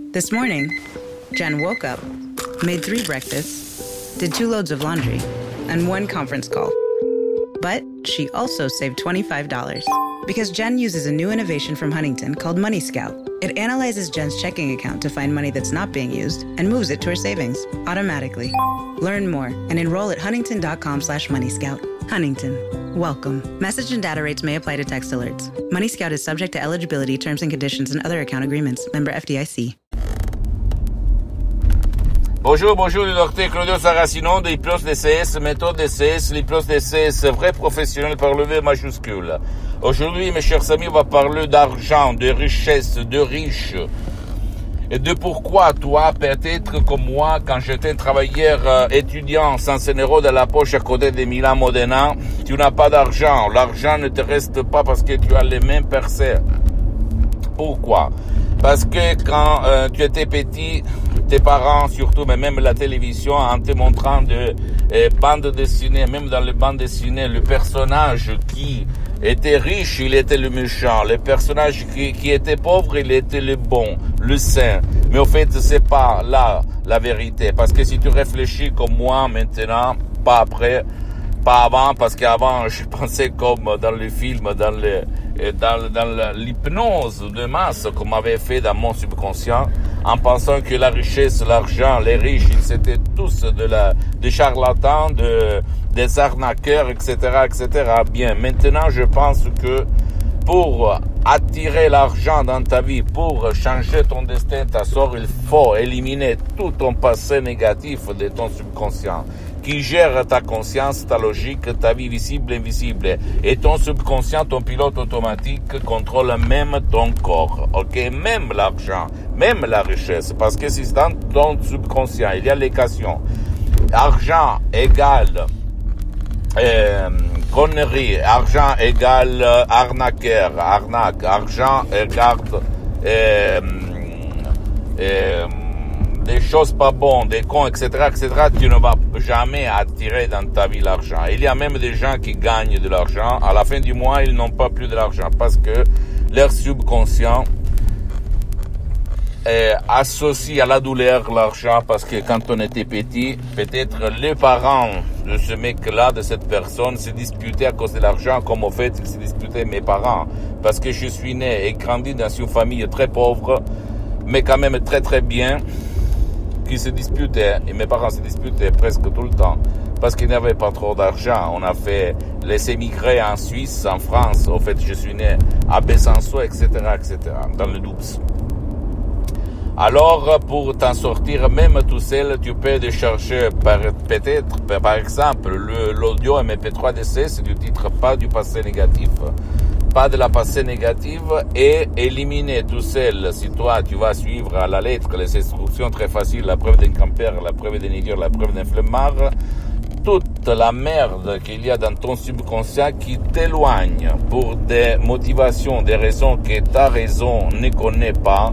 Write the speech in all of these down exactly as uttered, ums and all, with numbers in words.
This morning, Jen woke up, made three breakfasts, did two loads of laundry, and one conference call. But she also saved twenty-five dollars because Jen uses a new innovation from Huntington called Money Scout. It analyzes Jen's checking account to find money that's not being used and moves it to her savings automatically. Learn more and enroll at huntington.com slash money scout. Huntington. Welcome. Message and data rates may apply to text alerts. Money Scout is subject to eligibility, terms and conditions, and other account agreements. Member F D I C. Bonjour, bonjour, le docteur Claudio Saracino de l'hypnose D C S, méthode D C S, l'hypnose D C S, vrai professionnel par le V majuscule. Aujourd'hui, mes chers amis, on va parler d'argent, de richesse, de riches, et de pourquoi toi, peut-être comme moi, quand j'étais un travailleur euh, étudiant, sans un euro dans la poche à côté de Milan Modena, tu n'as pas d'argent. L'argent ne te reste pas parce que tu as les mêmes percées. Pourquoi? Parce que quand euh, tu étais petit, tes parents surtout, mais même la télévision, en te montrant de euh, bandes dessinées, même dans les bandes dessinées, le personnage qui était riche, il était le méchant. Le personnage qui, qui était pauvre, il était le bon, le saint. Mais au fait, c'est pas là la vérité. Parce que si tu réfléchis comme moi maintenant, pas après, pas avant, parce qu'avant, je pensais comme dans le film, dans le, dans, dans l'hypnose de masse qu'on m'avait fait dans mon subconscient, en pensant que la richesse, l'argent, les riches, ils étaient tous de la, des charlatans, de, des arnaqueurs, et cetera, et cetera. Bien, maintenant, je pense que pour attirer l'argent dans ta vie, pour changer ton destin, ta sort, il faut éliminer tout ton passé négatif de ton subconscient, qui gère ta conscience, ta logique, ta vie visible et invisible. Et ton subconscient, ton pilote automatique, contrôle même ton corps, ok? Même l'argent, même la richesse. Parce que si dans ton subconscient, il y a l'équation, argent égale euh, connerie, argent égale arnaqueur, arnaque, argent égale euh, euh, des choses pas bonnes, des cons, et cetera, et cetera, tu ne vas jamais attirer dans ta vie l'argent. Il y a même des gens qui gagnent de l'argent. À la fin du mois, ils n'ont pas plus de l'argent parce que leur subconscient euh, associe à la douleur l'argent parce que quand on était petit, peut-être les parents de ce mec-là, de cette personne, se disputaient à cause de l'argent, comme au fait, ils se disputaient mes parents. Parce que je suis né et grandi dans une famille très pauvre, mais quand même très très bien, qui se disputaient, et mes parents se disputaient presque tout le temps, parce qu'ils n'avaient pas trop d'argent. On a fait les émigrés en Suisse, en France, au fait, je suis né à Besançon, et cetera, et cetera, dans le Doubs. Alors, pour t'en sortir, même tout seul, tu peux décharger par, peut-être, par exemple, le, l'audio M P trois D C, c'est du titre pas du passé négatif, pas de la passé négative, et éliminer tout seul, si toi tu vas suivre à la lettre les instructions très faciles, la preuve d'un campeur, la preuve d'un idiot, la preuve d'un flemmard, toute la merde qu'il y a dans ton subconscient qui t'éloigne pour des motivations, des raisons que ta raison ne connaît pas,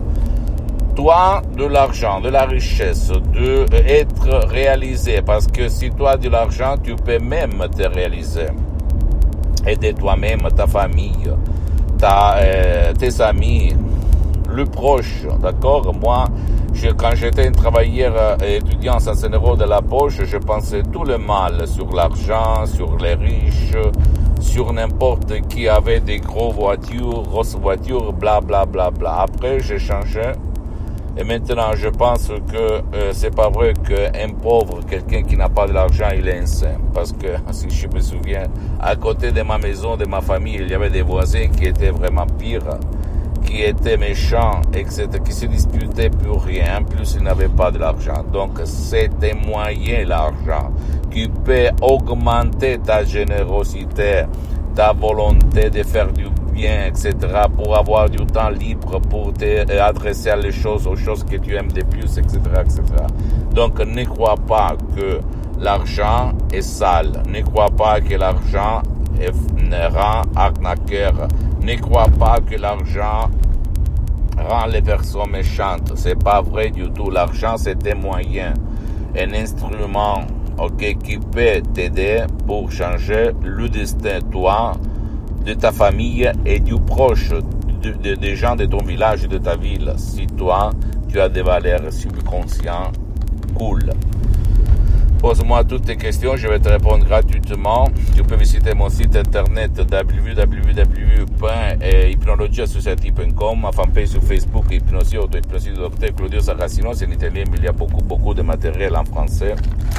toi, de l'argent, de la richesse, de être réalisé, parce que si toi as de l'argent, tu peux même te réaliser. Aider toi-même, ta famille, ta, euh, tes amis, le proche, d'accord? Moi, je, quand j'étais un travailleur euh, étudiant sans un euro de la poche, je pensais tout le mal sur l'argent, sur les riches, sur n'importe qui avait des gros voitures, grosses voitures, bla bla bla bla. Après, j'ai changé. Et maintenant, je pense que euh, c'est pas vrai qu'un pauvre, quelqu'un qui n'a pas de l'argent, il est insane. Parce que, si je me souviens, à côté de ma maison, de ma famille, il y avait des voisins qui étaient vraiment pires, qui étaient méchants, et cetera, qui se disputaient pour rien. En plus, ils n'avaient pas de l'argent. Donc, c'est un moyen, l'argent, qui peut augmenter ta générosité, ta volonté de faire du bien, et cetera, pour avoir du temps libre, pour t'adresser à les choses, aux choses que tu aimes de plus, et cetera, et cetera. Donc, ne crois pas que l'argent est sale. Ne crois pas que l'argent est, rend arnaqueur. Ne crois pas que l'argent rend les personnes méchantes. C'est pas vrai du tout. L'argent, c'est un moyen, un instrument, ok, qui peut t'aider pour changer le destin, toi, de ta famille et du proche, de, de, des gens de ton village et de ta ville. Si toi, tu as des valeurs subconscientes cool. Pose-moi toutes tes questions, je vais te répondre gratuitement. Tu peux visiter mon site internet w w w point hypnologie associative point com, ma fanpage sur Facebook, Hypnosie, auto-hypnosie du docteur Claudio Saracino, c'est en italien, mais il y a beaucoup, beaucoup de matériel en français.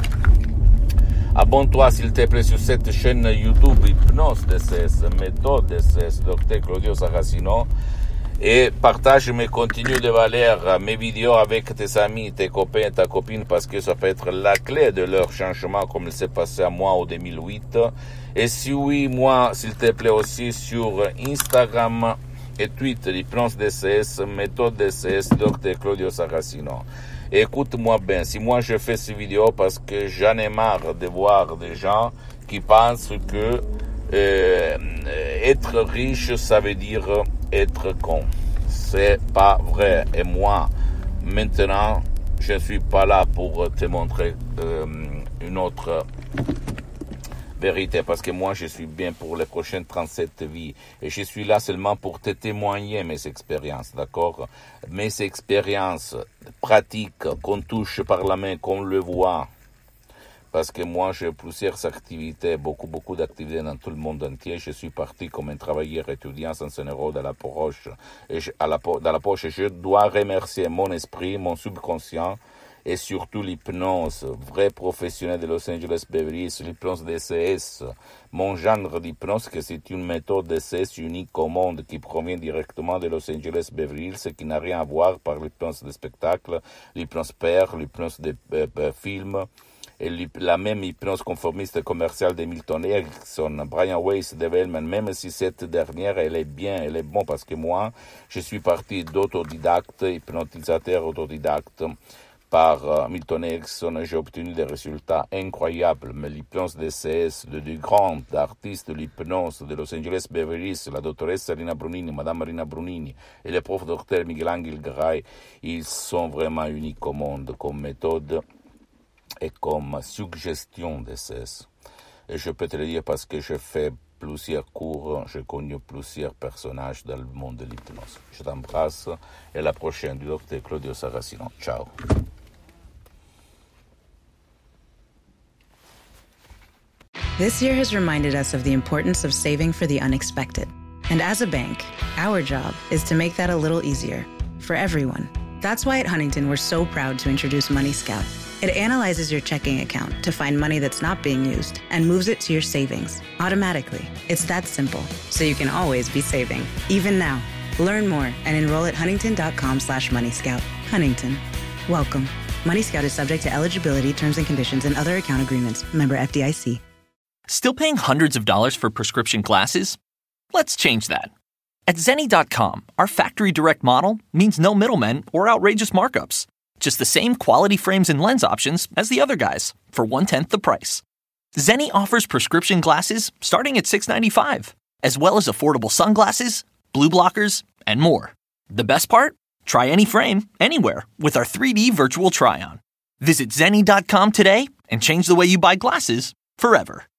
Abonne-toi s'il te plaît sur cette chaîne YouTube Hypnose D C S, méthode D C S, docteur Claudio Saracino. Et partage mes contenus de valeur, mes vidéos avec tes amis, tes copains, ta copine, parce que ça peut être la clé de leur changement comme il s'est passé à moi en deux mille huit. Et si oui, moi, s'il te plaît aussi sur Instagram et Twitter, Hypnose D C S, méthode D C S, docteur Claudio Saracino. Et écoute-moi bien, si moi je fais ces vidéos parce que j'en ai marre de voir des gens qui pensent que euh, être riche, ça veut dire être con. C'est pas vrai. Et moi, maintenant, je ne suis pas là pour te montrer euh, une autre vérité, parce que moi, je suis bien pour les prochaines trente-sept vies. Et je suis là seulement pour te témoigner mes expériences, d'accord? Mes expériences pratiques qu'on touche par la main, qu'on le voit. Parce que moi, j'ai plusieurs activités, beaucoup, beaucoup d'activités dans tout le monde entier. Je suis parti comme un travailleur étudiant sans un euro dans la poche. Et je, à la, dans la poche, je dois remercier mon esprit, mon subconscient, et surtout l'hypnose, vrai professionnel de Los Angeles Beverly Hills, l'hypnose D C S, mon genre d'hypnose, que c'est une méthode D C S unique au monde qui provient directement de Los Angeles Beverly Hills, qui n'a rien à voir par l'hypnose de spectacle, l'hypnose père, l'hypnose de euh, euh, film, et la même hypnose conformiste commerciale de Milton Erickson, Brian Weiss, Dave Hellman, même si cette dernière, elle est bien, elle est bonne, parce que moi, je suis parti d'autodidacte, hypnotisateur autodidacte, par uh, Milton Erickson, j'ai obtenu des résultats incroyables. Mais l'hypnose D C S de deux grands artistes de l'hypnose de Los Angeles Beverly Hills, la dottoressa Rina Brunini, Madame Rina Brunini et le prof docteur Miguel Angel Gray, ils sont vraiment uniques au monde comme méthode et comme suggestion D C S. Et je peux te le dire parce que je fais plusieurs cours, j'ai connu plusieurs personnages dans le monde de l'hypnose. Je t'embrasse et à la prochaine du docteur Claudio Saracino. Ciao. This year has reminded us of the importance of saving for the unexpected. And as a bank, our job is to make that a little easier for everyone. That's why at Huntington, we're so proud to introduce Money Scout. It analyzes your checking account to find money that's not being used and moves it to your savings automatically. It's that simple, so you can always be saving, even now. Learn more and enroll at huntington.com slash moneyscout. Huntington. Welcome. Money Scout is subject to eligibility, terms and conditions, and other account agreements. Member F D I C. Still paying hundreds of dollars for prescription glasses? Let's change that. At Zenni dot com, our factory direct model means no middlemen or outrageous markups. Just the same quality frames and lens options as the other guys for one-tenth the price. Zenni offers prescription glasses starting at six dollars and ninety-five cents, as well as affordable sunglasses, blue blockers, and more. The best part? Try any frame, anywhere, with our three D virtual try-on. Visit Zenni dot com today and change the way you buy glasses forever.